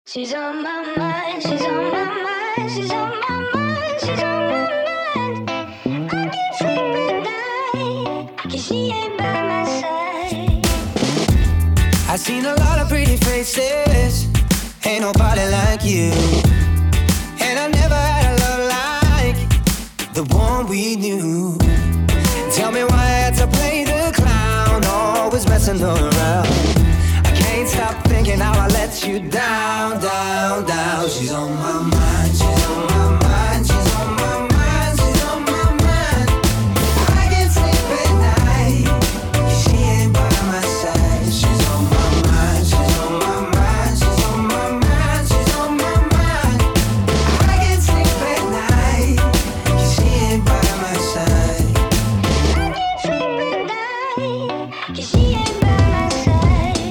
She's on my mind, she's on my mind, she's on my mind, she's on my mind. I can't sleep at night, 'cause she ain't by my side. I've seen a lot of pretty faces, ain't nobody like you. And I never had a love like the one we knew. Tell me why I had to play the clown, always messing around. I can't stop thinking how I let you down, down, down. She's on my mind, she's on my mind, she's on my mind, she's on my mind. I can't sleep at night, 'cause she ain't by my side. She's on my mind, she's on my mind, she's on my mind, she's on my mind. I can't sleep at night, 'cause she ain't by my side. I can't sleep at night, 'cause she ain't by my side.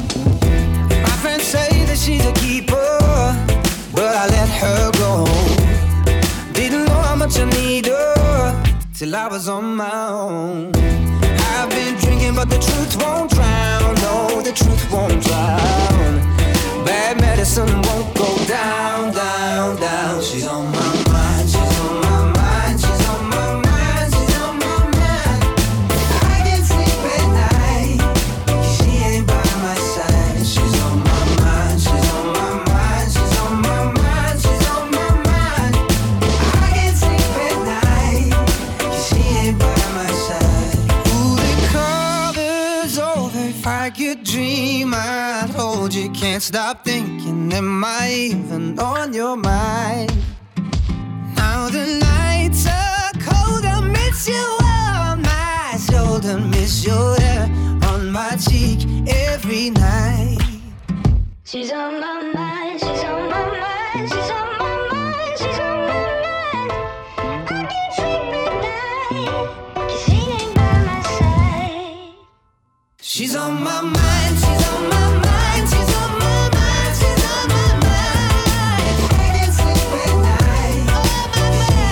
My friends say that she's a keeper, but I let her go. Didn't know how much I need her till I was on my own. I've been drinking, but the truth won't drown. No, the truth won't drown. Bad medicine won't go down, down, down. She's on my mind, she's on my mind, she's on my mind, she's on my mind. I can't sleep at night, 'cause she ain't by my side. She's on my mind, she's on my mind, she's on my mind, she's on my mind. I can't sleep at night, 'cause she ain't by my side. Ooh, the cover's over. If I could dream, I'd hold you. Can't stop thinking, am I even on your mind? Now the nights are cold, I miss you on my shoulder, miss your hair on my cheek every night. She's on my mind, she's on my mind, she's on my mind, she's on my mind. I can't sleep at night, 'cause she ain't by my side. She's on my mind, she's on my mind, she's on my mind, she's on my mind. I can't sleep at night, on my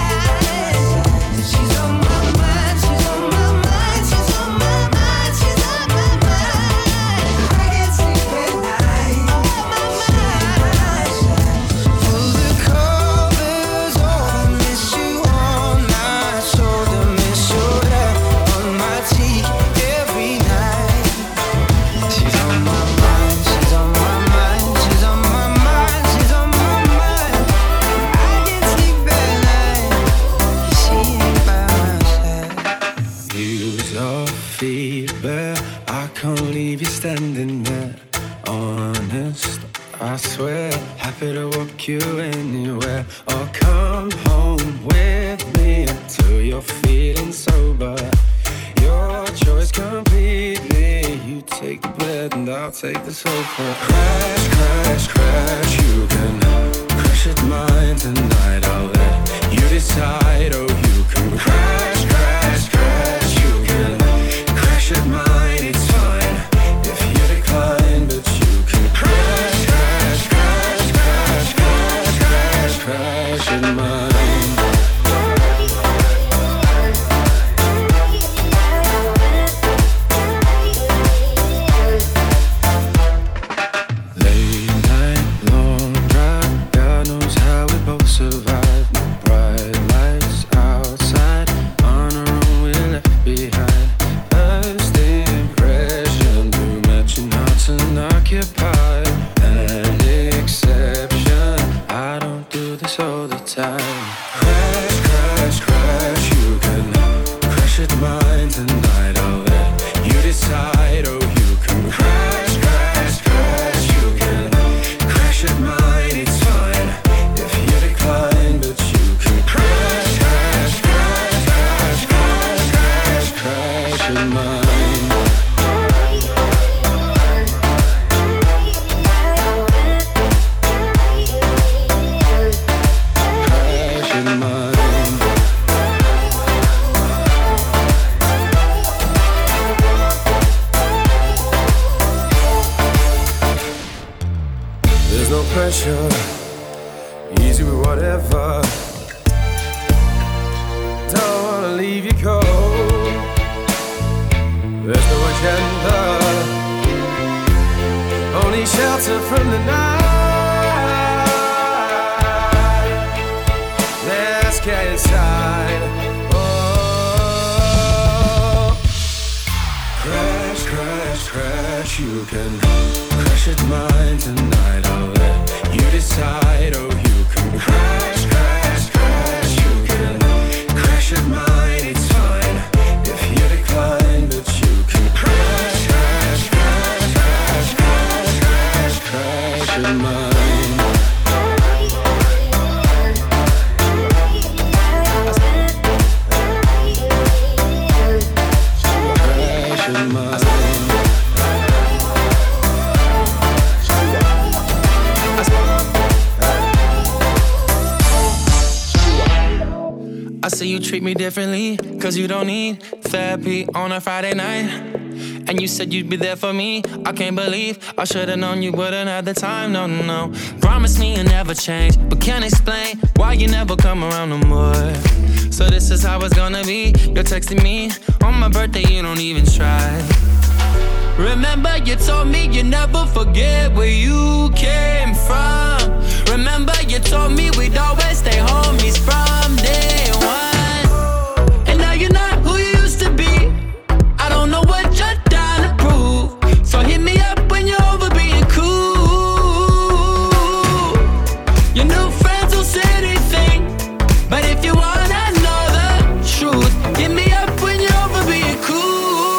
mind. She's on my mind, she's on my mind, she's on my mind, she's on my mind. I can't sleep at night, on my mind. Pull the covers over, miss you on my shoulder, miss your hair on my cheek every night. She's on my mind, she's on my mind, she's on my mind, she's on my mind. I can't sleep at night, she ain't by my side. Use your feet, but I can't leave you standing there. Honest, I swear, happy to walk you anywhere. Or come home with me until you're feeling sober. Your choice completely. You take the bed and I'll take the sofa. Crash, crash, crash. You can crash at mine tonight. I'll let you decide. Oh, you can crash, crash, crash. You can crash at mine. It's fine if you decline, but you can crash, crash, crash, crash, crash, crash, crash at mine. Late night, long drive, God knows how we both survived. No bright lights outside, on our own we're left behind. First impression, too much and hearts unoccupied. An exception, I don't do this all the time. Crash, crash, crash, you can crash at mine tonight. I'll let you decide. Oh, you can crash, crash, crash. You can crash at mine. It's fine if you decline, but you can crash, crash, crash, crash, crash, crash, crash at mine. Crash at mine. There's no pressure, easy with whatever. Don't wanna leave you cold. There's no agenda, only shelter from the night. you can crash at mine tonight. I'll let you decide. Oh, you can crash, crash, crash. You can crash at mine. It's fine if you decline, but you can crash, crash, crash, crash, crash, crash, crash at mine. I see you treat me differently, cause you don't need therapy on a Friday night. And you said you'd be there for me. I can't believe I should've known you wouldn't have the time, no, no, no. Promise me you'll never change, but can't explain why you never come around no more. So this is how it's gonna be. You're texting me on my birthday, you don't even try. Remember you told me you never forget where you came from. Remember you told me we'd always stay homies from day one. And now you're not who you used to be. I don't know what you're trying to prove. So hit me up when you're over being cool. Your new friends will say anything, but if you wanna know the truth, hit me up when you're over being cool.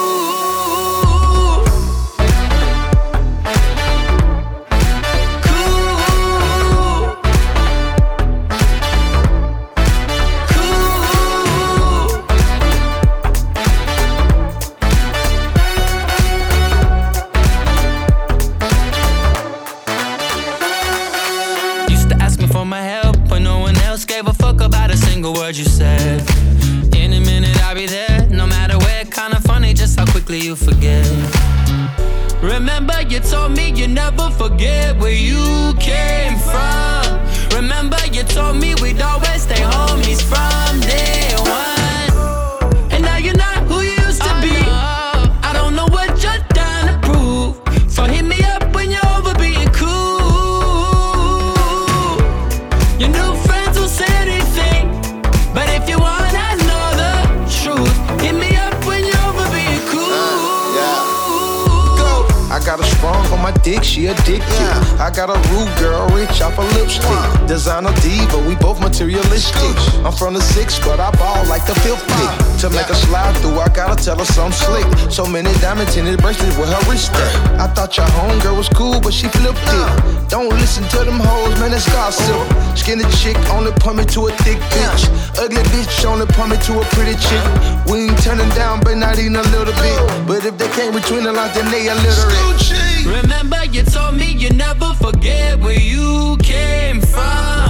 Word you said. In a minute I'll be there, no matter where. Kinda funny just how quickly you forget. Remember you told me you never forget where you came from. Remember you told me we'd always stay homies from day one. And now you're not who you used to be. I don't know what you're trying to prove. So hit me up when you're over being cool. Your new friends will say anything, but if you wanna know the truth, hit me up when you're over being cool. Go. I got a sprung on my dick, she addicted. I got a rude girl, rich off a lipstick. Designer diva, we both materialistic. I'm from the 6, but I ball like the 5th pick. To make a slide through, I gotta tell her something slick. So many diamond tinted bracelets with her wrist at. I thought your homegirl was cool, but she flipped it. Don't listen to them hoes, man, that's gossip. Skinny chick only point me to a thick bitch. Ugly bitch only point me to a pretty chick. We ain't turning down, but not even a little bit. But if they came between the lines, then they illiterate. Remember you told me you never forget where you came from.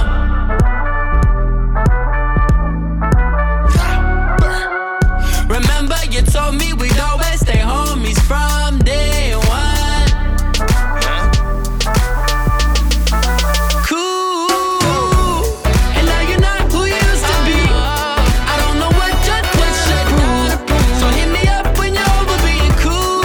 Remember you told me we'd always stay homies from day one. Cool. And now you're not who you used to be. I don't know what you're trying to prove. So hit me up when you're over being cool.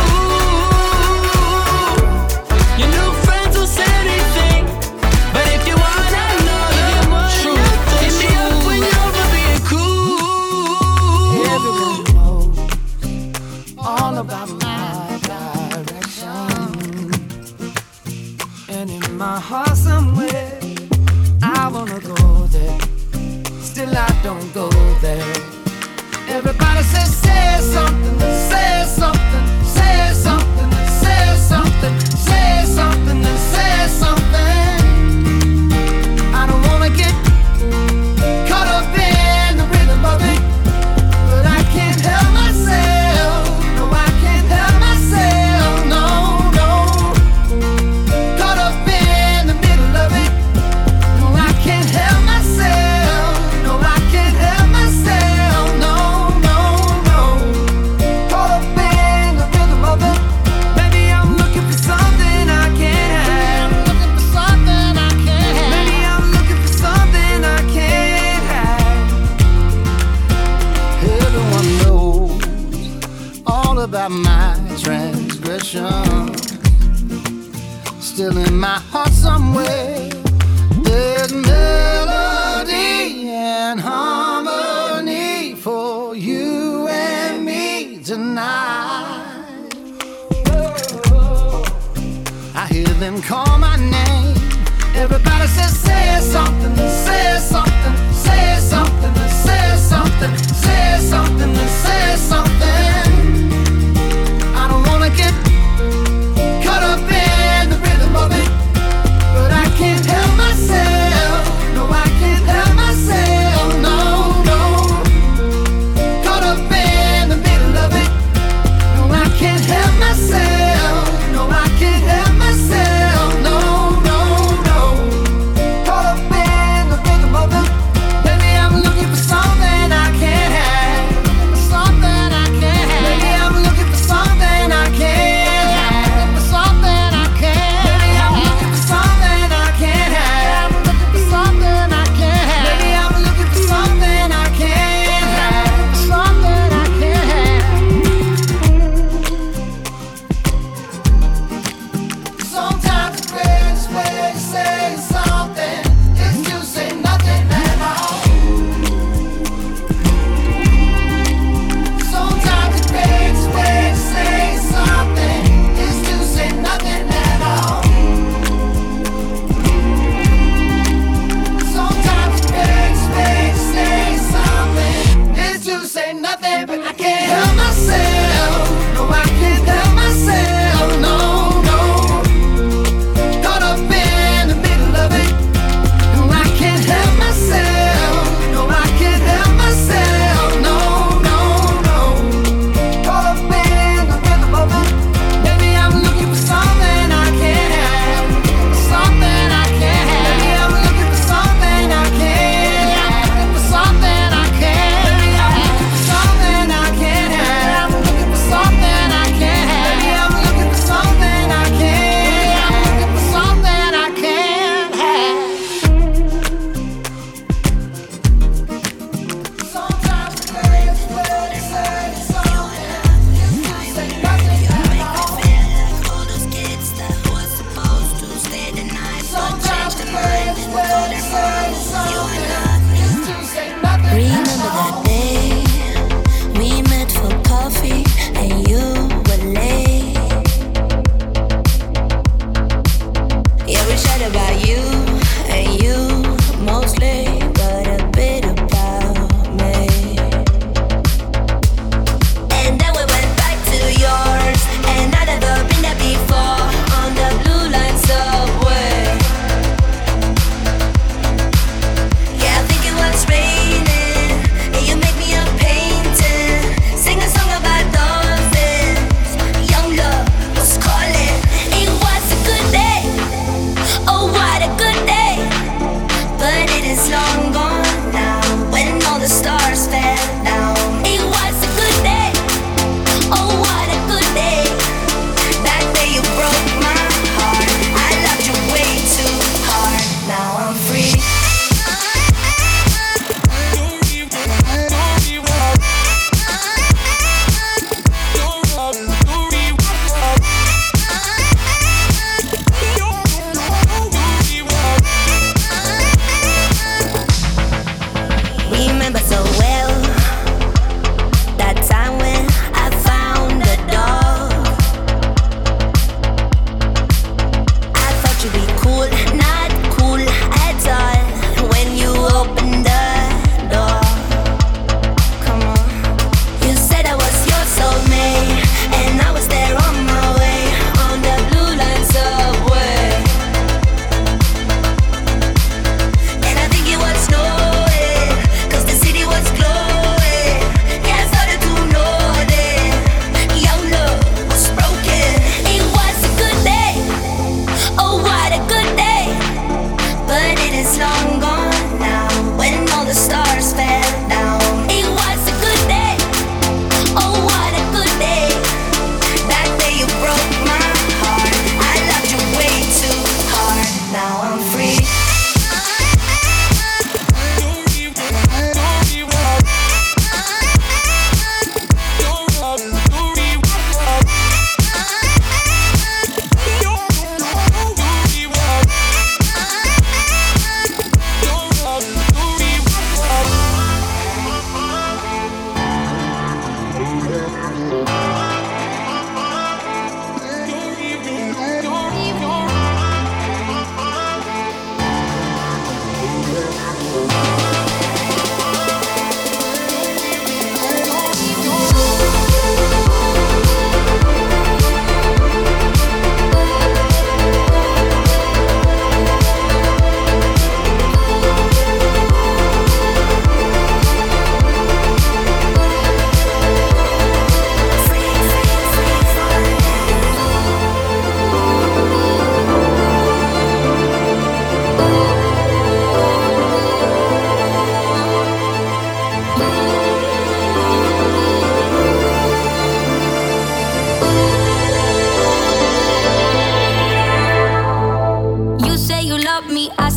Your new friends will say anything, but if you wanna know the truth, hit me up when you're over being cool. Everyone knows all about my direction, and in my heart somewhere I wanna go there. Still I don't go there. Everybody says say something, say something, say something, say something, say something, say something. I don't wanna get caught up in the rhythm of it, but I can't help myself. No, I can't help myself. No, no. Caught up in the middle of it. No, I can't help myself. No, I can't help myself. No, no, no. Caught up in the rhythm of it. Maybe I'm looking for something I can't have. Looking for something I can't have. Maybe I'm looking for something I can't have. Everyone knows all about my transgression. Still in my heart somewhere, there's melody and harmony for you and me tonight.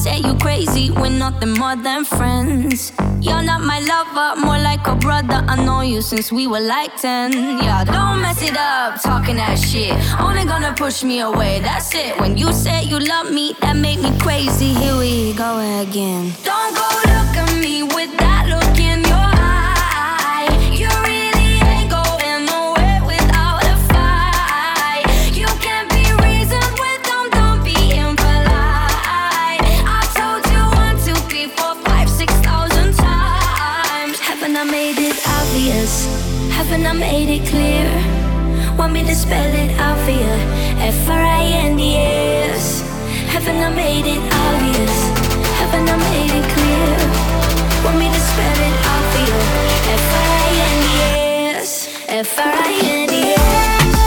say you crazy, we're nothing more than friends. You're not my lover, more like a brother. I know you since we were like 10. Yeah, don't mess it up, talking that shit. Only gonna push me away, that's it. When you say you love me, that make me crazy. Here we go again. Don't go look at me with that look in your eye. You really ain't going nowhere without a fight. You can't be reasoned with them, don't be impolite. I told you 1, 2, 3, 4, 5, 6,000 times. Haven't I made it obvious? Haven't I made it clear? Want me to spell it out for you? F-R-I-N-D-S. Haven't I made it obvious? Haven't I made it clear? Want me to spell it out for you? F-R-I-N-D-S. F-R-I-N-D-S.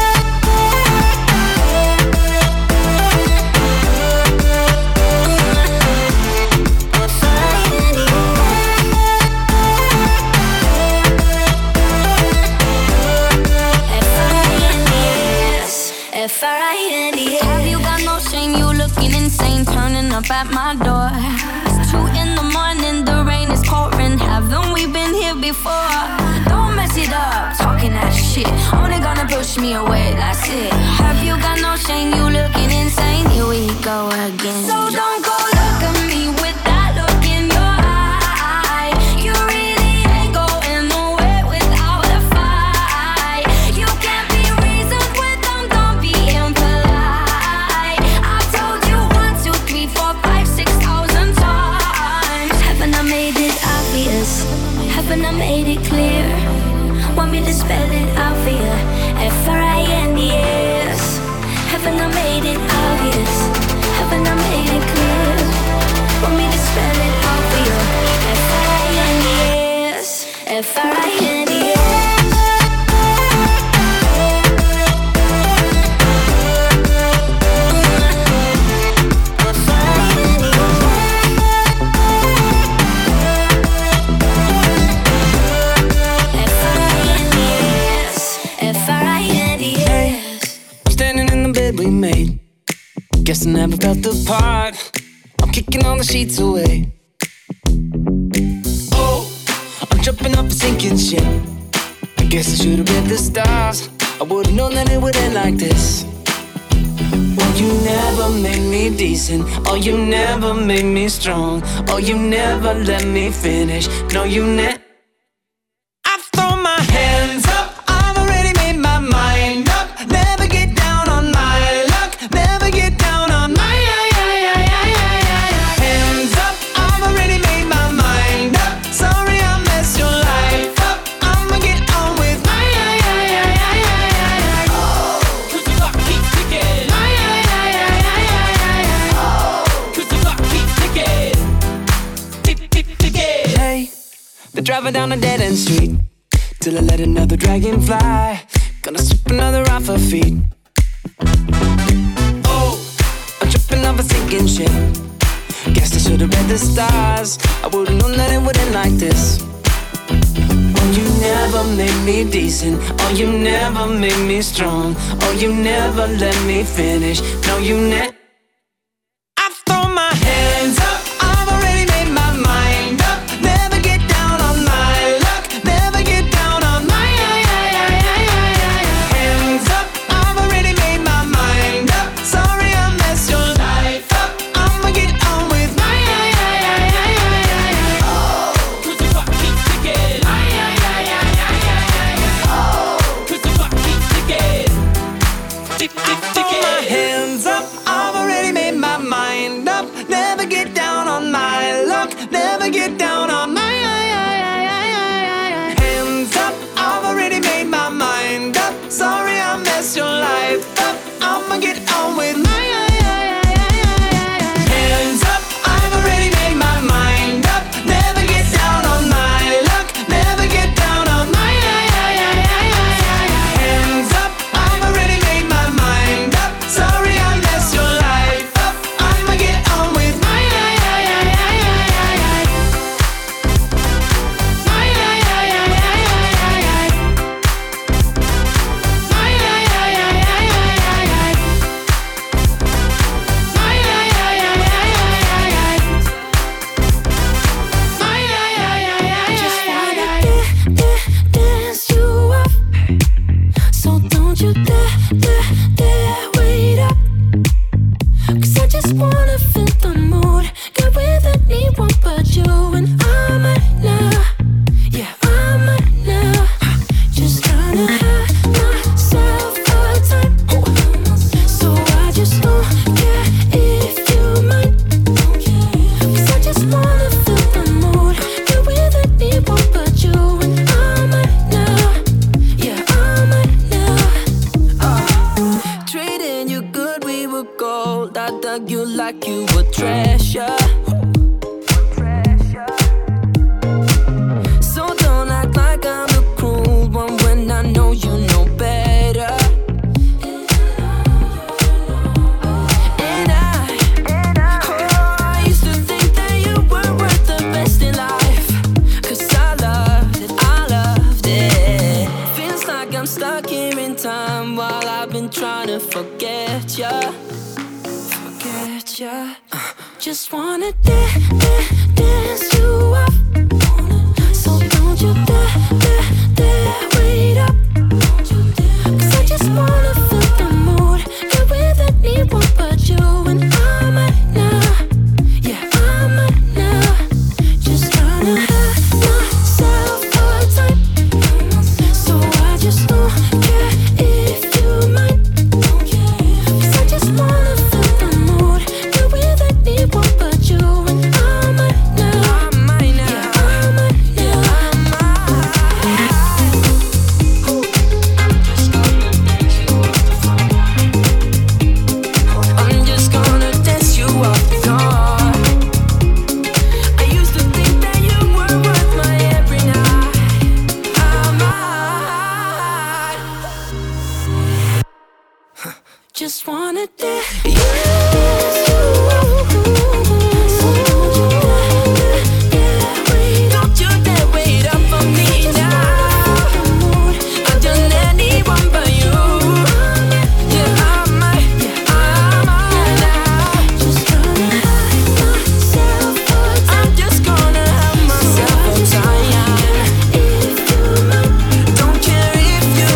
F-R-I-N-D-S. Have you got no shame? You looking insane, turning up at my door. It's 2 in the morning, the rain is pouring. Haven't we been here before? Don't mess it up, talking that shit. Only gonna push me away, that's it. Have you got no shame? You looking insane. Here we go again. So don't go look at me with that look in your eye. You really ain't going nowhere without a fight. You can't be reasoned with them, don't be impolite. I told you 1, 2, 3, 4, 5, 6,000 times. Haven't I made it obvious? Haven't I made it clear? Want me to spell it out for you? F-R-I-N-D-S. Haven't I made it obvious? Haven't I made it clear? Want me to spell it out for you? F-R-I-N-D-S. F-R-I-N-D-S. We made. Guess I never felt the part. I'm kicking all the sheets away. Oh, I'm jumping off a sinking ship. I guess I should've read the stars. I would've known that it would end like this. Oh, you never made me decent. Oh, you never made me strong. Oh, you never let me finish. No, you never. I throw my hands up. I've already made my mind up. Never get down on my luck. Never get down on my hands up. I've already made my mind up. Sorry I messed your life up. I'ma get on with my cause the clock keeps ticking. Cause the clock keeps ticking. Tick, tick, ticking. Hey, they're driving down a dead-end street till I let another dragon fly. Gonna sweep another off her feet. Oh, I'm tripping off a sinking ship. Guess I should've read the stars. I would've known that it would end like this. Oh, you never made me decent. Oh, you never made me strong. Oh, you never let me finish. No, you never. I throw my hands up. I've already made my mind up. Never get down on my luck. Never get down on my hands up. I've already made my mind up. Sorry I messed your life up. I'ma get on with my cause the clock keeps ticking. Cause the clock keeps ticking. Tick, tick, ticking. My hands up. I've already made my mind up. Never get down on my luck. Never get down on my hands up. I've already made my mind up. Sorry I messed your life up. I'ma get on with my hands up. I've already made my mind up. Never get down on my luck. Never get down on my hands up. I've already made my mind up. Sorry I messed your life up. I'ma get on with my forget ya. Just wanna dance you up. So don't you dare wait up. 'Cause I just wanna feel the mood. Get with anyone but you. And I might now, yeah, I might now. Just gonna have myself a time. So I just don't care if you mind. 'Cause I just wanna feel the mood. Get with anyone but you. And I might now, yeah, I might now. I'm just gonna dance you off the floor. I used to think that you were worth my every night. I might just wanna dance you. Don't you dare wait up for me now. I've done anyone but you. Yeah, I might now. I'm just gonna have myself a time. Don't care if you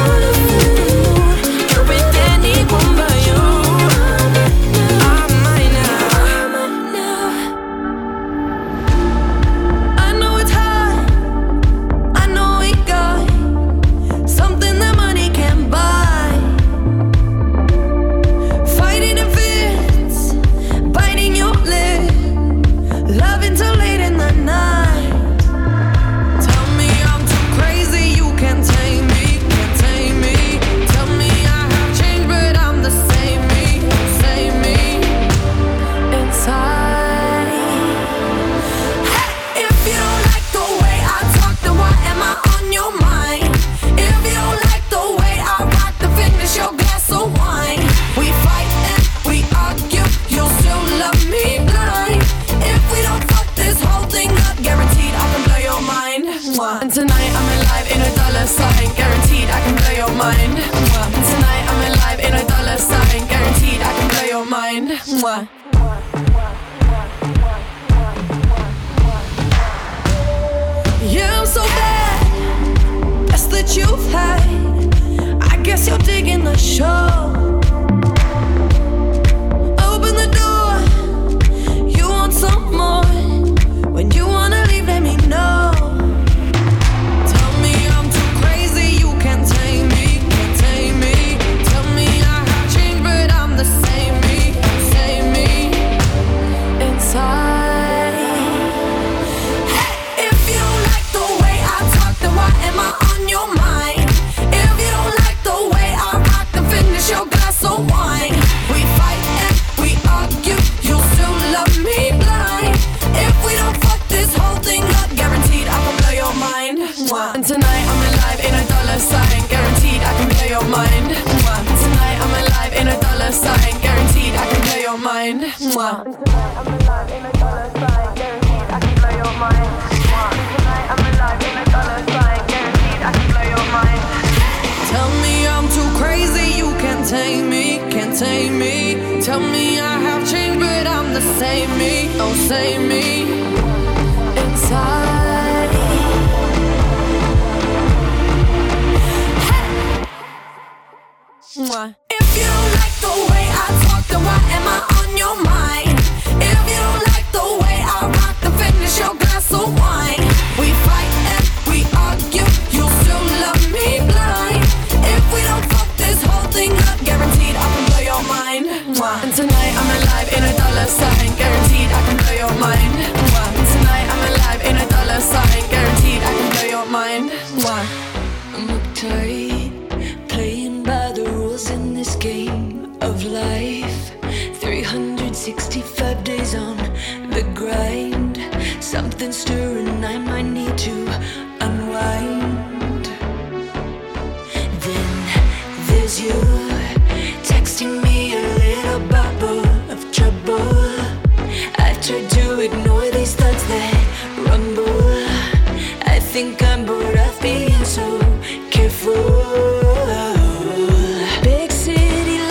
go with anyone but you. I might now. I know it's hard. I know we got something that money can't buy. Fighting the fits, biting your lip, loving till late in the night. Tell me I'm too crazy, you can't tame me, can't tame me. Tell me I have changed, but I'm the same me inside. If you don't like the way I talk, then why am I on your mind? If you don't like the way I rock, then finish your glass of wine. We fight and we argue, you'll still love me blind. If we don't fuck this whole thing up, guaranteed I can blow your mind. And tonight I'm alive in a dollar sign, guaranteed I can blow your mind. And tonight I'm alive in a dollar sign, guaranteed I can blow your mind. Yeah, I'm so bad. That's that you've had. I guess you're digging the show. Open the door. You want some more. When you wanna leave, let me know. Tell me I'm too crazy, you can't tame me, can't tame me. Tell me I have changed, but I'm the same me inside. If you don't like the way I talk, then why am I on your mind? If you don't like the way I rock, then finish your glass of wine. We fight and we argue, you'll still love me blind. If we don't fuck this whole thing up, guaranteed I can blow your mind. And tonight I'm alive in a dollar sign, guaranteed I can blow your mind. Tonight I'm alive in a dollar sign, guaranteed I can blow your mind. Tonight I'm alive in a dollar sign, guaranteed I can blow your mind. Tonight I'm alive in a dollar sign, guaranteed I can blow your mind. Tell me I'm too crazy, you can't tame me, can't tame me. Tell me I have changed, but I'm the same me, oh same me inside. If you don't like the way I talk, then why am I on your mind? If you don't like the way I rock, then finish your glass of wine. We fight and we argue, you'll still love me blind. If we don't fuck this whole thing up, guaranteed I can blow your mind. And tonight I'm alive in a dollar sign, guaranteed I can blow your mind. And tonight I'm alive in a dollar sign, guaranteed I can blow your mind. I'm uptight, playing by the rules in this game of life. 365 days on the grind. Something stirring, I might need to unwind. Then there's you texting me a little bubble of trouble. I tried to ignore these thoughts that rumble. I think I'm bored of being so careful. Big city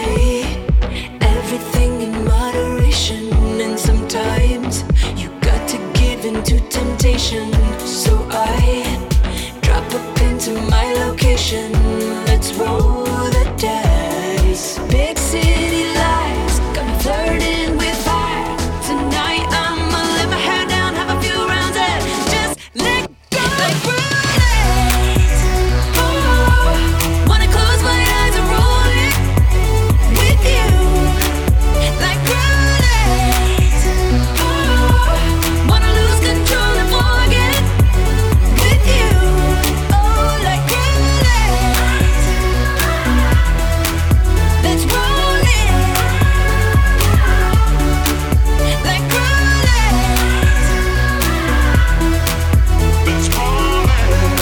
right. Everything in moderation, and sometimes you got to give in to temptation. So I drop a pin to my location. Let's roll the dice. Big city lights got me flirting with fire. Tonight I'ma let my hair down, have a few rounds and just let go. Like roulette. Oh, wanna close my eyes and roll it with you. Like roulette. Oh, wanna lose control and forget with you. Oh, like roulette. Let's roll it. Like roulette. Let's roll it.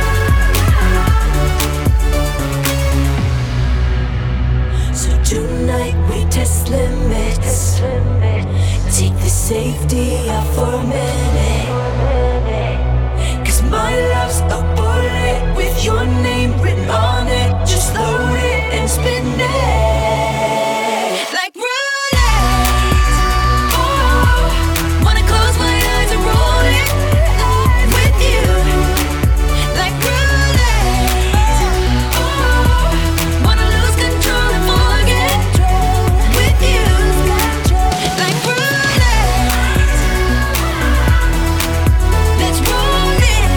So tonight we test limits. Take the safety off for a minute. 'Cause my love's a bullet with your name written on it. Just load it and spin it. Like roulette. Oh, wanna close my eyes and roll it with you. Like roulette. Oh, wanna lose control and forget with you. Like roulette. Let's roll it.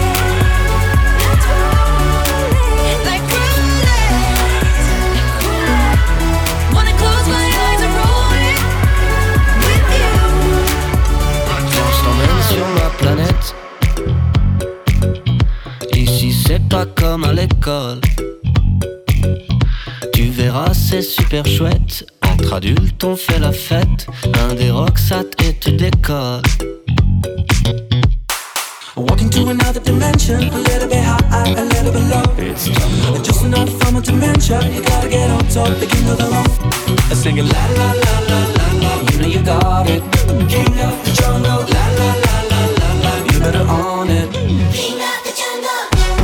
Like roulette. Wanna close my eyes and roll it with you. Je t'emmène sur ma planète. Ici c'est pas comme à l'école. Tu verras c'est super chouette. Entre adultes on fait la fête. Un des rocksat et tu décolles. Walking to another dimension, a little bit high, a little bit low. It's jungle. Just another form of dementia. You gotta get on top, the king of the road. I sing it la la la la la la. You know you got it. King of the jungle, la la la la la la. You better own it. King of the jungle.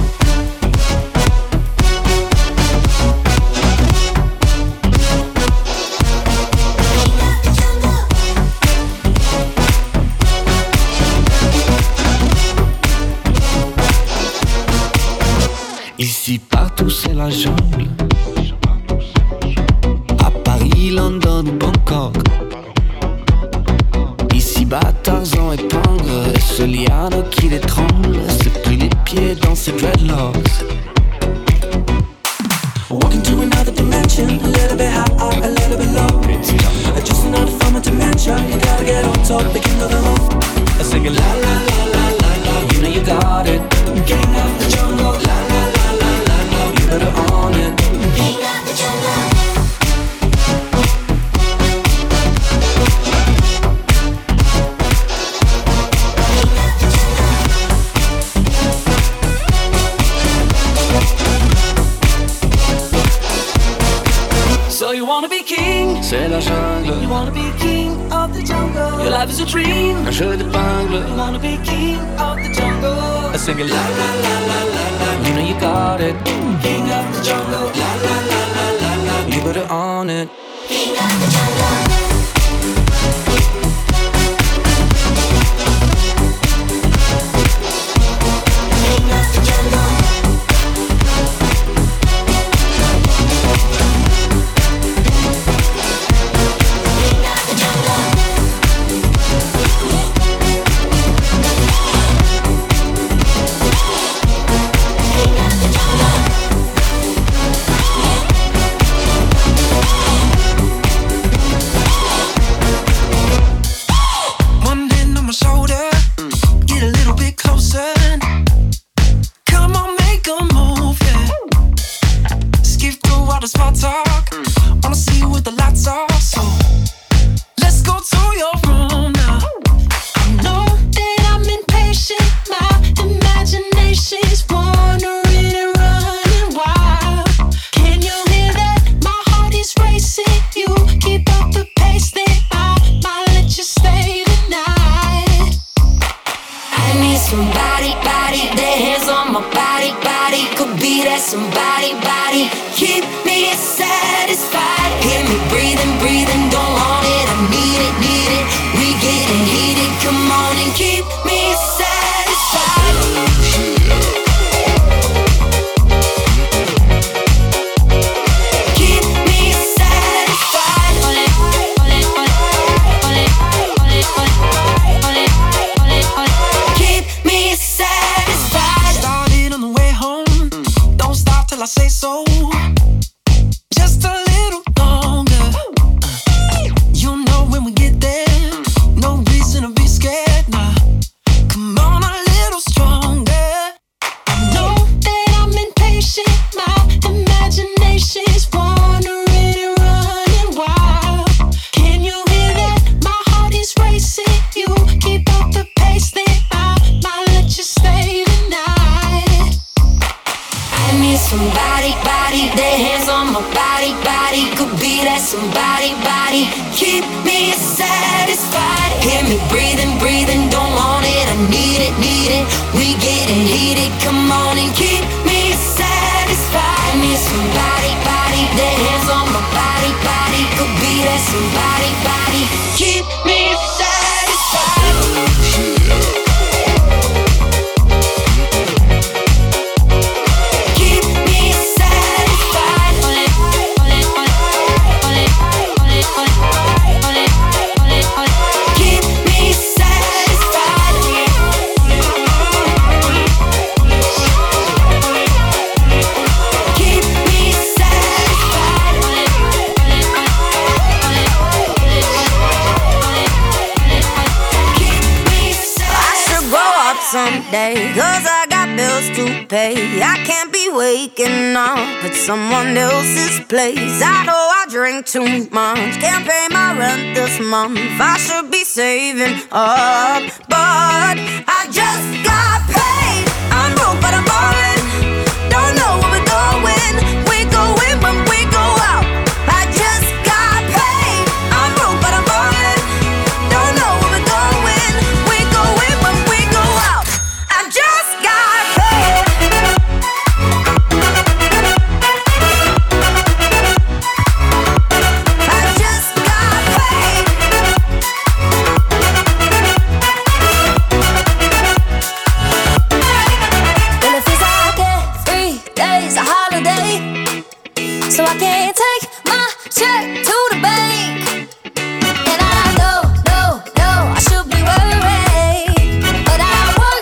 Ici partout c'est la jungle. À Paris, London ou Bangkok. Ici bas Tarzan et Pangre. Et ce liano qui l'étrangle s'est pris les pieds dans ses dreadlocks. Walking to another dimension, a little bit high, a little bit low. It's jungle. Just another form of dementia. You gotta get on top, the king of the road. I sing it la la la la la la. You know you got it. King of the jungle, la la la la la la. You better own it. King of the jungle. So you wanna be king? C'est la jungle. You wanna be king of the jungle? Your life is a dream. Un jeu d'épingle. You wanna be king of the jungle? I sing it la la la la la la. You know you got it. King of the jungle, la la la la la la. You better own it. King of the jungle. King of the jungle. One hand on my shoulder, get a little bit closer. Come on, make a move, yeah. Skip through all the small talk. Wanna see what the lights are, so let's go to your room now. I know that I'm impatient. My imagination's wandering and running wild. Can you hear that? My heart is racing. You keep up the pace, then I might let you stay tonight. I need somebody, their hands on my body. Could be that somebody, keep me satisfied. Give me me breathing, breathing, don't want it, I need it, need it. We getting heated, come on and keep me satisfied. Keep me satisfied. Keep me satisfied. Started on the way home. Don't stop till I say so. Just a little longer. You know when we get there, no reason to be scared. Nah, come on a little stronger. I know that I'm impatient. My imagination's wandering and running wild. Can you hear that? My heart is racing. You keep up the pace, then I might let you stay tonight. I need somebody, body, their hands on my body, body. Could be that somebody, body. Keep me satisfied. Hear me breathing, breathing, don't want it, I need it, need it. We getting heated, come on and keep me satisfied. I need somebody, body, their hands on my body, body. Could be that somebody, body. Keep me satisfied. Keep me satisfied. Keep me satisfied. Keep me satisfied. Keep me satisfied. I should grow up someday, 'cause I got bills to pay. I can't be waking up at someone else's place. I know I drink too much, can't pay my rent this month. I should be saving up, but I just got paid. I'm broke but I'm ballin', don't know where we're going. We go in when we go out. I just got paid. I'm broke but I'm ballin', don't know where we're going. We go in when we go out. I just got paid. I just got paid. Well, it feels like every day's a holiday, so I can't take my check to the bank. And I know, I should be worried, but I work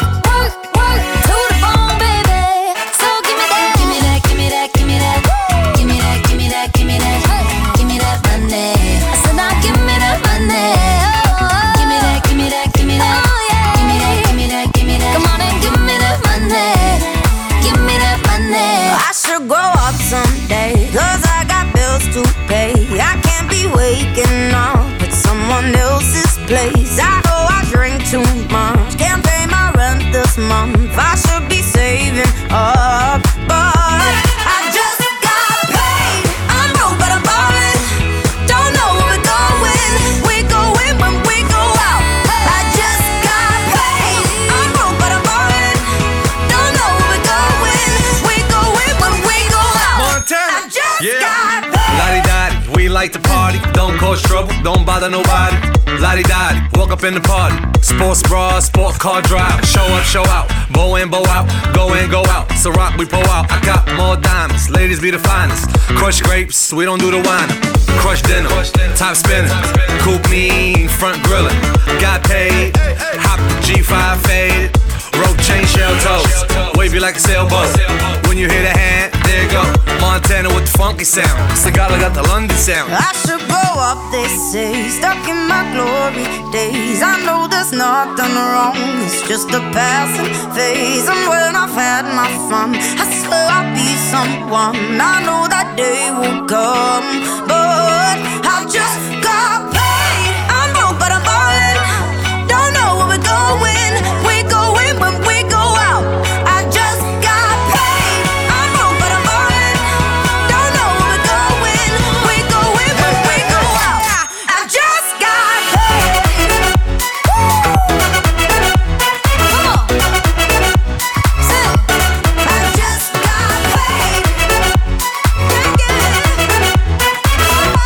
to the bone, baby. So give me that, give me that, give me that, give me that, give me that, give me that, give me that, give me that money. I said now give me that money. Give me that, give me that, give me that. Give me that, give me that, give me that. Come on and give me that money. Give me that money. I should grow up someday, 'cause I got bills to pay. I can't be waking up at someone else's place. I know I drink too much, can't pay my rent this month. I should be saving up, but I just got paid. I'm broke but I'm ballin', don't know where we're going. We go in when we go out. I just got paid. I'm broke but I'm ballin', don't know where we're going. We go in when we go out. Montana. I just Yeah. got paid. Lottie-dottie, we like to party. Don't cause trouble, don't bother nobody. Lottie-dottie, walk up in the party. Sports bra, sport car drive. Show up, show out. Bow in, bow out. Go in, go out. So rock, we pull out. I got more diamonds. Ladies be the finest. Crush grapes, we don't do the wine. Crush dinner, top spinning. Coupe mean, front grilling. Got paid, hop the G5 faded. Rope chain, shell toes. Wavy like a sailboat. When you hear the hand, there you go. Montana with the funky sound. Sagala got the London sound. I should grow up, they say, stuck in my glory days. I know there's nothing wrong, it's just a passing phase. And when I've had my fun, I swear I'll be someone. I know that day will come, but I just got paid. I'm broke but I'm ballin', don't know where we're going. We go in when we go out. I just got paid. I'm broke but I'm ballin', don't know where we're going. We go in when we go out. I just got paid. Come on, sing. I just got paid. Yeah, yeah.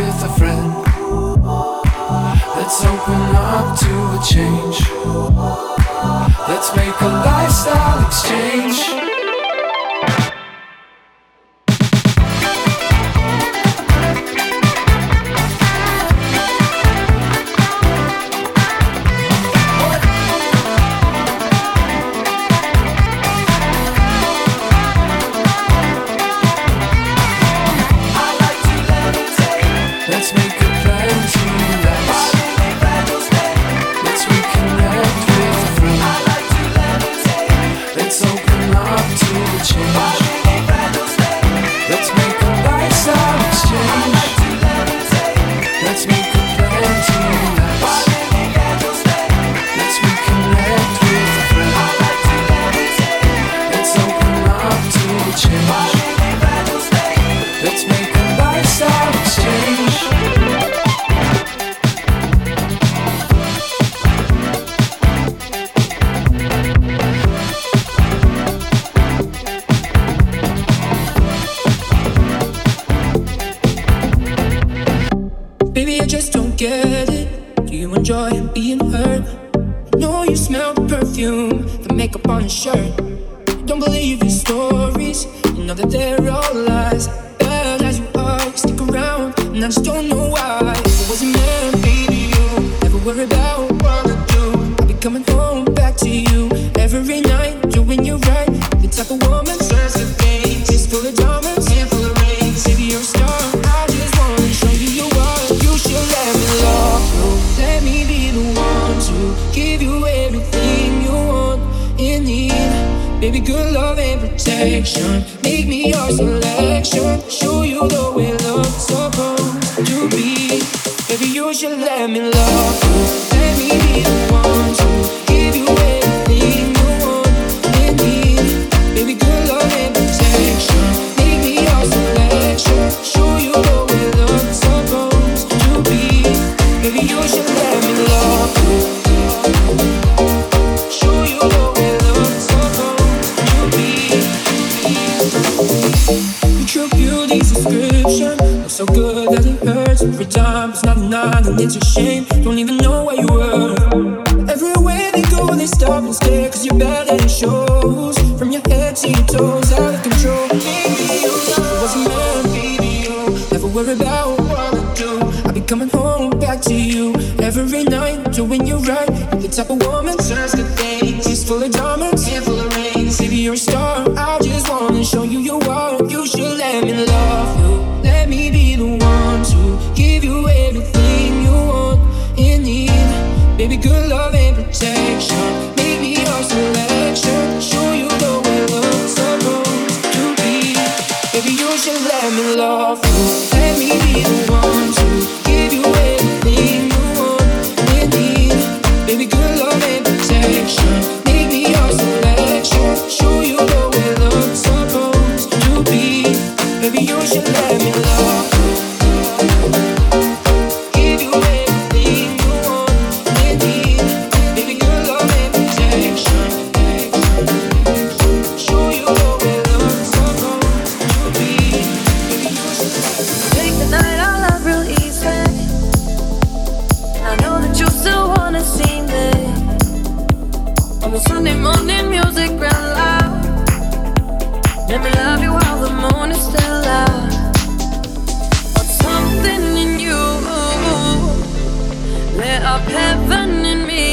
with a friend. Let's open up to a change. Let's make a lifestyle exchange. Let's make a plan to relax. Let's reconnect with a friend. Let's open up to a change. Let's make a lifestyle exchange. Let's make a plan to relax. Let's reconnect with a friend. Let's open up to a change. Let's make a lifestyle exchange. Baby, I just don't get it. Do you enjoy being hurt? I know you smell the perfume, the makeup on your shirt. Don't believe your stories, you know that they're all lies. Bad as you are, you stick around, and I just don't know why. If it wasn't meant, baby, you never worry about what I do. I'll be coming home back to you every night, doing you right. The type of woman serves the things, it's full of diamonds and full of rings. Baby, you're a star, I just wanna show you you are. You should let me love you, let me be the one to give you everything you want and need. Baby, good love and protection, make me your selection. Show you the way love's supposed to be. Baby, you should let me love you, let me be the one to give you everything you want and need. Baby, good love and protection, make me your selection. Show you the way love's supposed to be. Baby, you should let me love you. Show you the way love's supposed to be. Your beauty's description looks so good that it hurts every time. It's not a nine and it's a shame. Don't even know where you were. Everywhere they go, they stop and stare, 'cause you're bad and it shows. From your head to your toes, out of control. Baby, you know it wasn't meant, baby, you never worry about what I do. I'll be coming home back to you every night, doing you right. You're the type of woman serves good things. She's full of diamonds and full of rings. Baby, you're a star, I just wanna show you you are. You should let me love you, let me be the one to give you everything you want and need. Baby, good love and protection, make me your selection. Show you the way love's supposed to be. Baby, you should let me love you, let me be the one to give you everything you want and need. Baby, good love and protection, make me your selection. Show you the way love's supposed to be. Baby, you should let me love you, give you everything you want and need. Baby, good love and protection, show you the way love's supposed to be. Baby, you should take the night our love real easy. I know that you still wanna see me on the Sunday morning music real loud. Let me love you while the moon is still out. But something in you lit up heaven in me.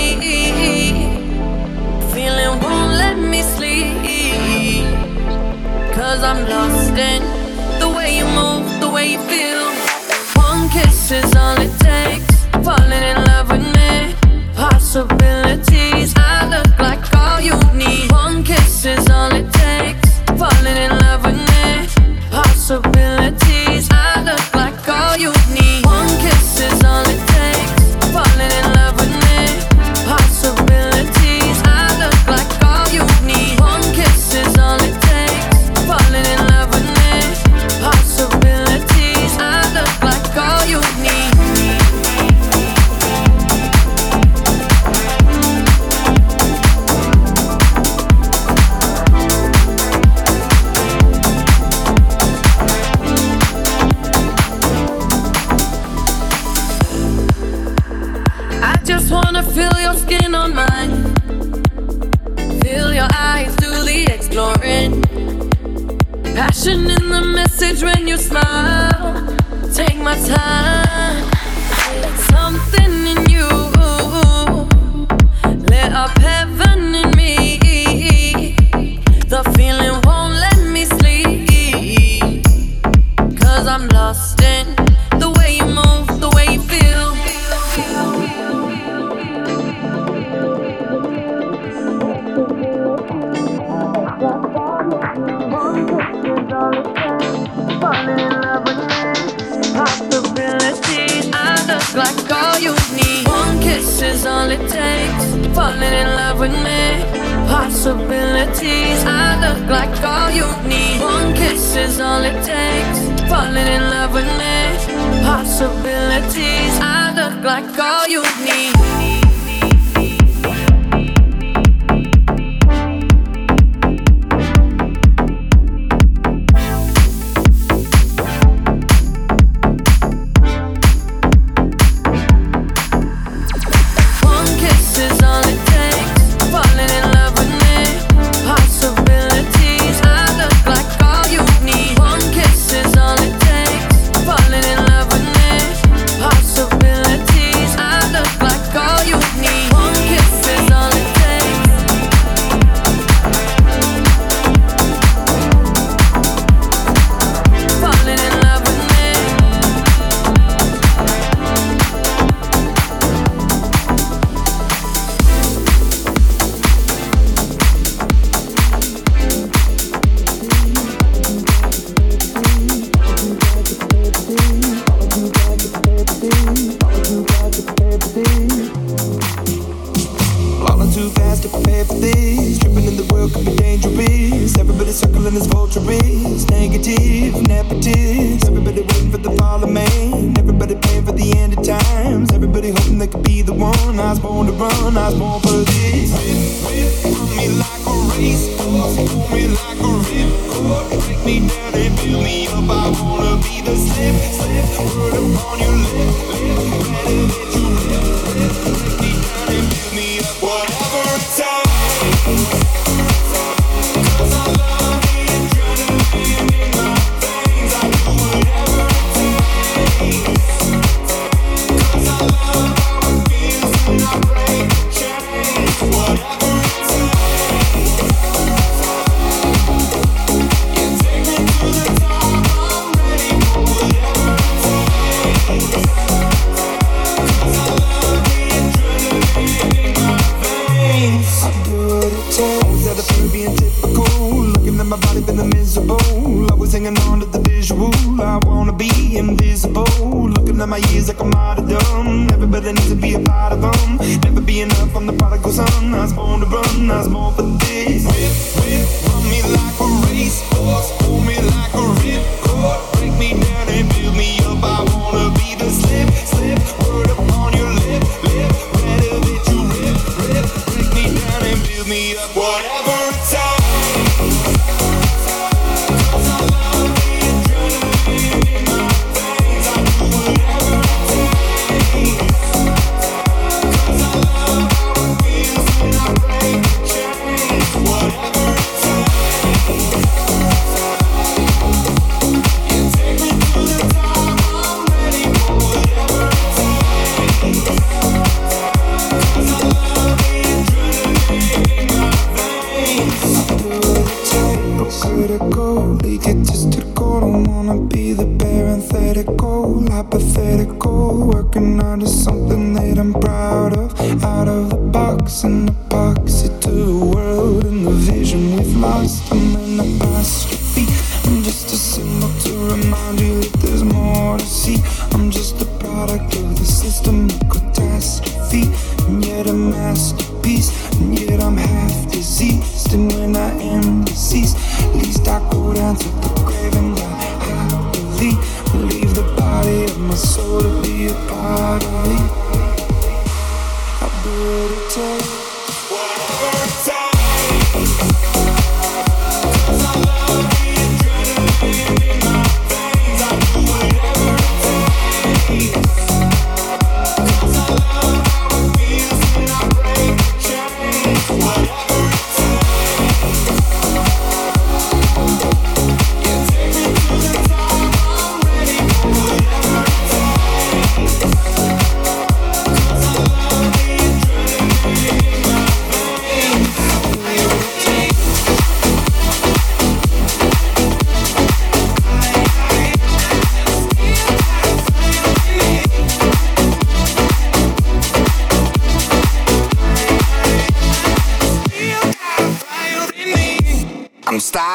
Feeling won't let me sleep, 'cause I'm lost in the way you move, the way you feel. One kiss is all it takes, falling in love with me. Possibilities, I look like all you need. One kiss is all it takes, falling in love with me. Possibilities, I look like all you need. One kiss is all it takes, falling in love with me. Possibilities, I look like all you need. One kiss is all it takes, falling in love with me. Possibilities, I look like all you need. wanna feel your skin on mine. Feel your eyes do the exploring. Passion in the message when you smile. Take my time. Something in you lit up heaven in me. The feeling won't let me sleep. 'Cause I'm lost in the way you move, the way you feel. Possibilities, I look like all you need. One kiss is all it takes. Falling in love with me. Possibilities, I look like all you need. One kiss is all it takes. Falling in love with me. Possibilities, I look like all you need.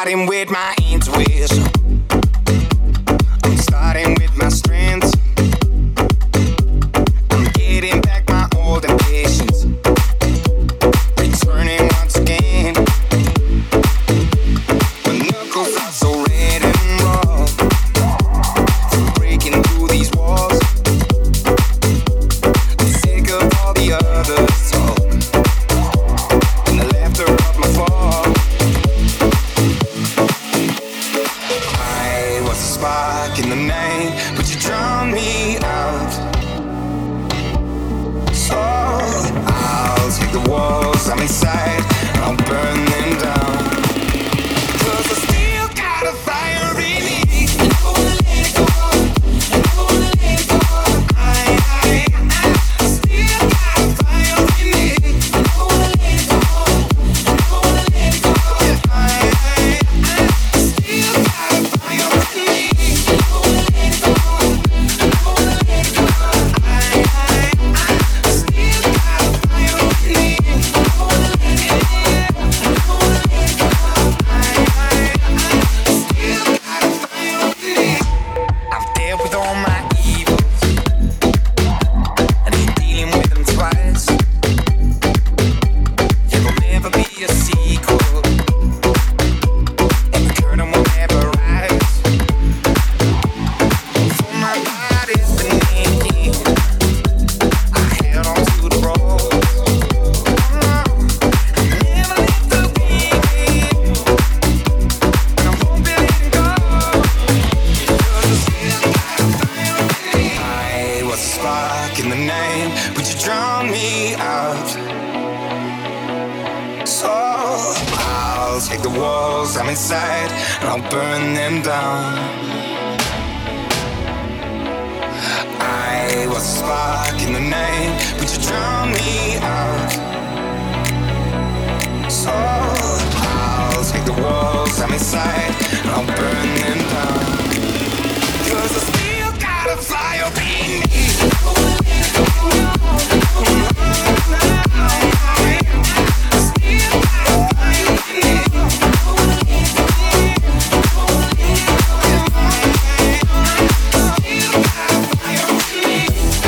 starting with my intuition. I'm starting with my strengths. I'm getting back my old impatience. Returning once again. My knuckles are so red and raw. I'm breaking through these walls. I'm sick of all the others talk and the laughter of my fall. I was a spark in the night, but you drowned me out. So I'll take the walls I'm inside, I'll burn them down. 'Cause I still got a fire in me. I never wanna let it go. I never wanna let it go. I still got a fire in me. I never wanna let it go. I never wanna let it go. I still got a fire in me. I never wanna let it go. I never wanna let it go. I still got a fire in me. I never wanna let it go. I never wanna let it go. I still got a fire in me. I've dealt with all my evils, and I'm dealing with them twice. There will never be a sequel, and the curtain will never rise. For my body's been aching, I held on to the rope. I never let the beat, and I'm hoping it goes. 'Cause I still got a fire in me. I was a spark in the night, but you drowned me out. So I'll take the walls I'm inside, and I'll burn them down. I was a spark in the night, but you drowned me out. So I'll take the walls I'm inside, and I'll burn them down. 'Cause I still got a fire in me. I never wanna let it go. I still got a fire in me. I never wanna let it go. I never wanna let it go. I still got a fire in me.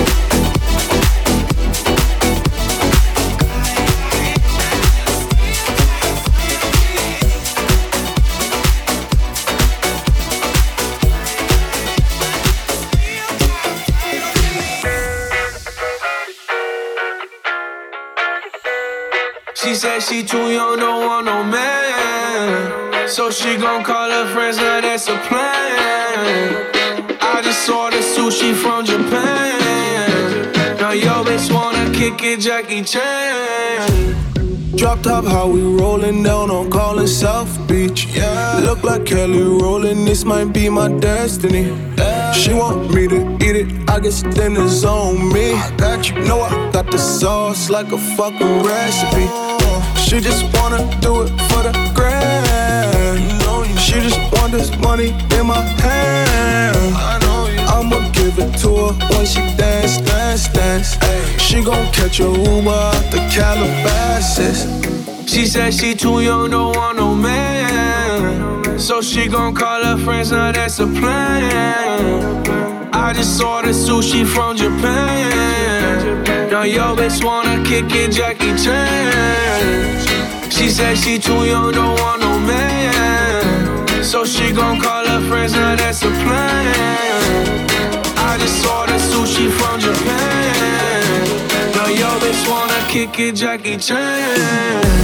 She said she too young, don't want no man. So she gon' call her friends, now that's a plan. I just ordered sushi from Japan. Now yo bitch wanna kick it, Jackie Chan. Drop top, how we rollin' down on Collins South Beach. Yeah. Look like Kelly rollin', this might be my destiny. Yeah. She want me to eat it, I guess dinner's on me. I got you, know I got the sauce like a fucking recipe. She just wanna do it for the grand. She just want this money in my hand. I'ma give it to her when she dance, dance, dance. She gon' catch a Uber out the Calabasas. She said she too young, don't want no man. So she gon' call her friends, now that's a plan. I just ordered sushi from Japan. Now yo bitch wanna kick it, Jackie Chan. She said she too young, don't want no man. So she gon' call her friends, now that's a plan. I just ordered sushi from Japan. Now yo bitch wanna kick it, Jackie Chan.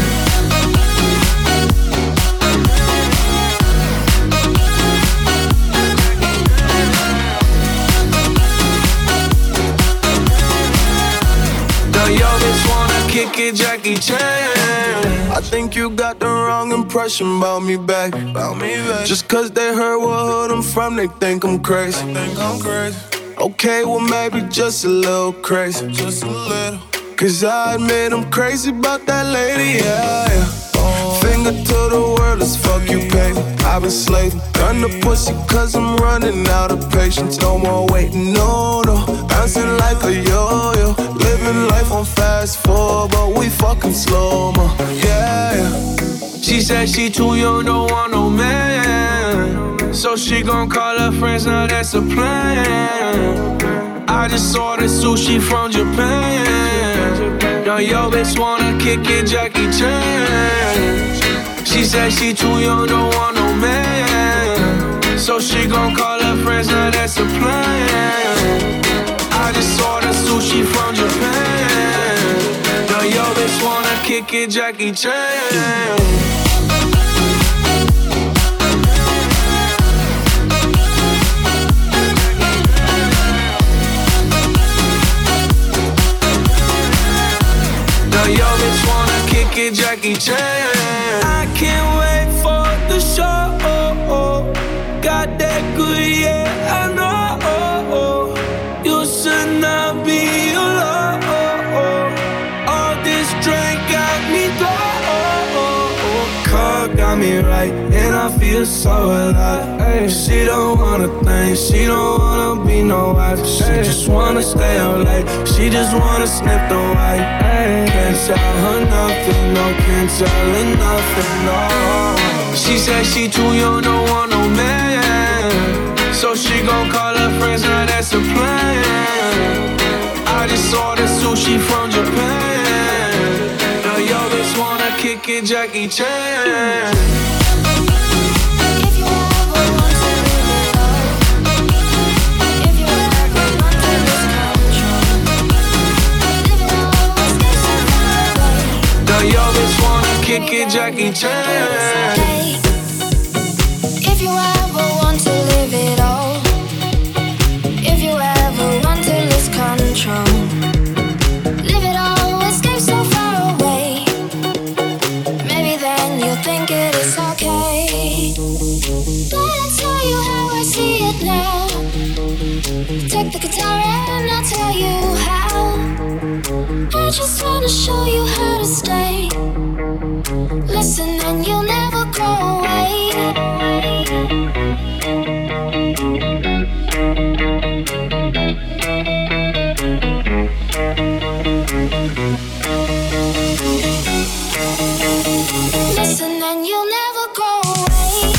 Yo, bitch wanna kick it, Jackie Chan. I think you got the wrong impression about me back. Just cause they heard what hood I'm from, they think I'm crazy. Okay, well maybe just a little crazy. Cause I admit I'm crazy about that lady, yeah, yeah. Finger to the world, as fuck you pay. I've been slaving, done the pussy cause I'm running out of patience. No more waiting, no, no. Bouncing like a yo-yo. Living life on fast forward, but we fucking slow-mo, yeah, yeah. She said she too young, don't want no man. So she gon' call her friends, now that's a plan. I just ordered sushi from Japan. Now yo bitch wanna kick it, Jackie Chan. She said she too young, don't want no man. So she gon' call her friends, now that's a plan. I just ordered sushi from Japan. Now yo bitch wanna kick it, Jackie Chan. Yo, bitch wanna kick it, Jackie Chan. I can't wait for the show. Got that good, yeah, I know. You should not be alone. All this drink got me low. Car got me right, and I feel so alive. She don't wanna think, she don't wanna be no wife. She just wanna stay out late, she just wanna sniff the white. Can't tell her nothing, no, can't tell her nothing, no. She said she too young, don't want no man. So she gon' call her friends, now that's a plan. I just ordered sushi from Japan. Now yo bitch wanna kick it, Jackie Chan. Yo, bitch wanna kick it, Jackie Chan. If you ever want to live it all, if you ever want to lose control, live it all, escape so far away. Maybe then you'll think it is okay. But I'll tell you how I see it now. Take the guitar and I'll tell you how. I just wanna show you how to stay. Listen and you'll never go away. Listen and you'll never go away.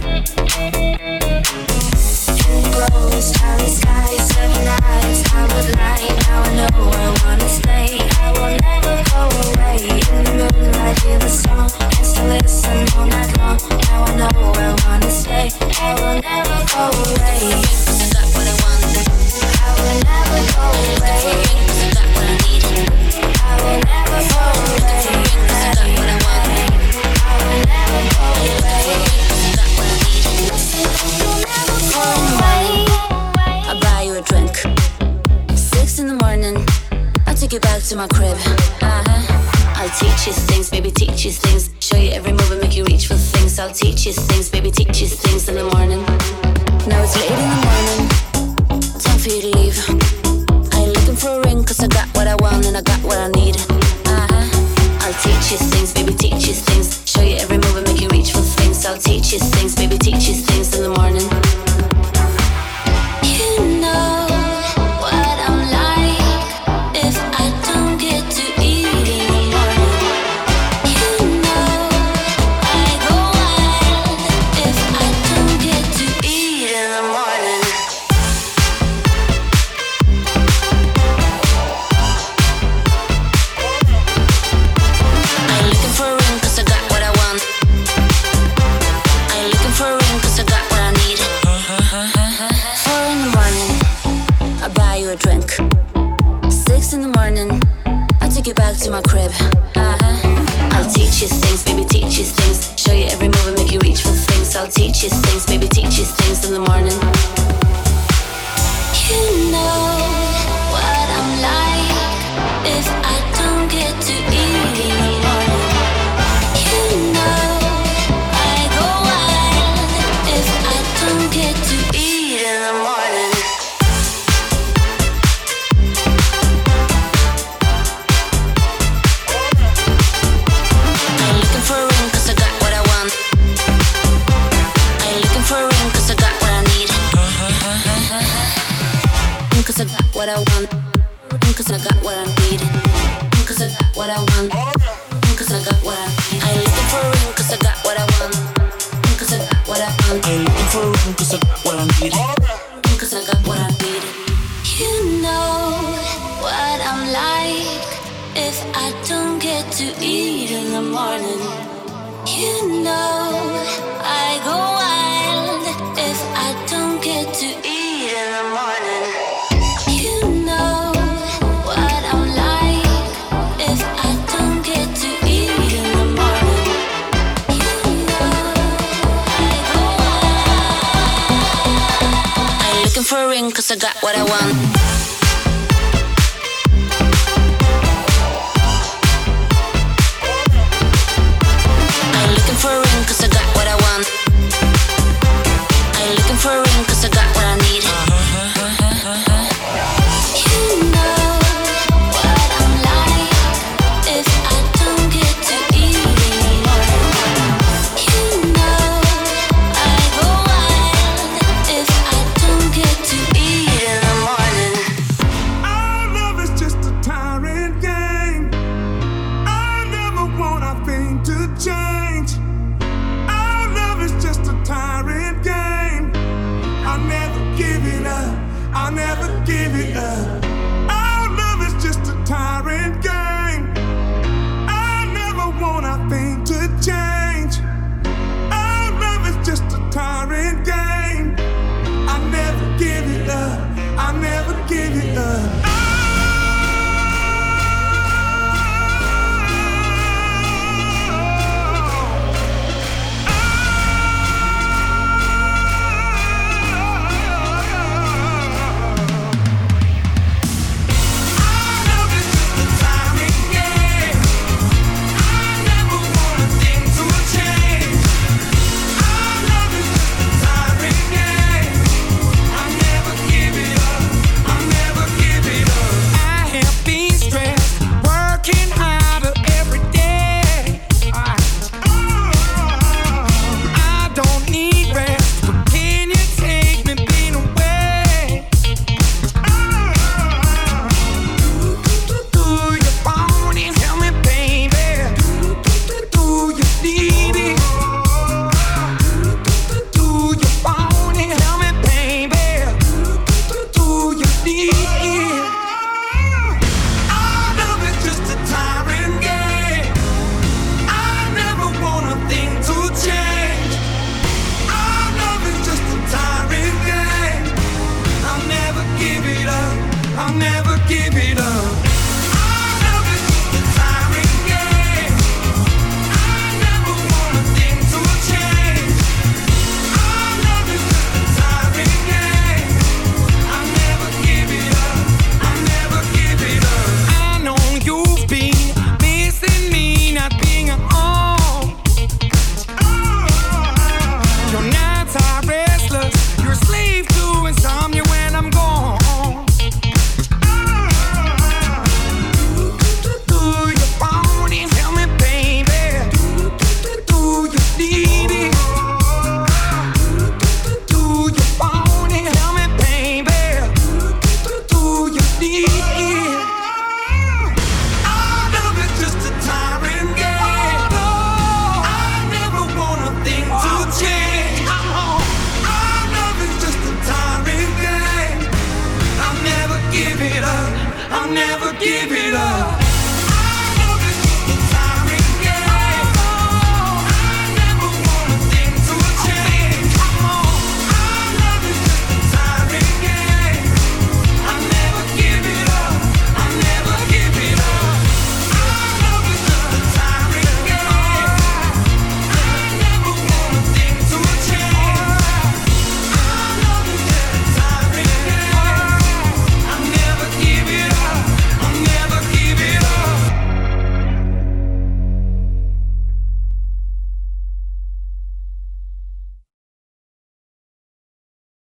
I would to my crib. I'll teach you things, baby, teach you things. Show you every move and make you reach for things. I'll teach you things, baby, teach you things in the morning. Now it's late in the morning, time for you to leave. I ain't looking for a ring, cause I got what I want and I got what I need. I'll teach you things, baby, teach you things. Show you every move and make you reach for things. I'll teach you things, baby, teach you things in the morning. You know what I'm like if I don't get to eat in the morning. You know I go wild if I don't get to eat in the morning. I ain't looking for a ring cause I got what I want. I ain't looking for a ring cause I got what I need. 4 in the morning, I'll buy you a drink. 6 in the morning, I'll take you back to my crib. I'll teach you things, baby, teach you things. Show you every move and make you reach for things. I'll teach you things, baby, teach you things in the morning. You know what I'm like if I don't get to eat in the morning. You know I go wild if I don't get to eat in the morning. I ain't looking for a ring cause I got what I want. I ain't looking for a ring cause I got what I need. Cause I got what I want. Cause I got what I need. Cause I got what I want. Cause I got what I need. I ain't looking for a ring cause I got what I want. Cause I got what I want. I ain't looking for a ring cause I got what I need. Cause I got what I need. You know what I'm like if I don't get to eat in the morning. You know I go wild if I don't get to eat in the morning. You know what I'm like if I don't get to eat in the morning. You know I go wild. I ain't looking for a ring cause I got what I want. I ain't looking for a ring cause I got what I want. I ain't looking for a ring cause I got what I need. You know what I'm like if I don't get to eat in the morning. You know I go wild if I don't get to eat in the morning. You're not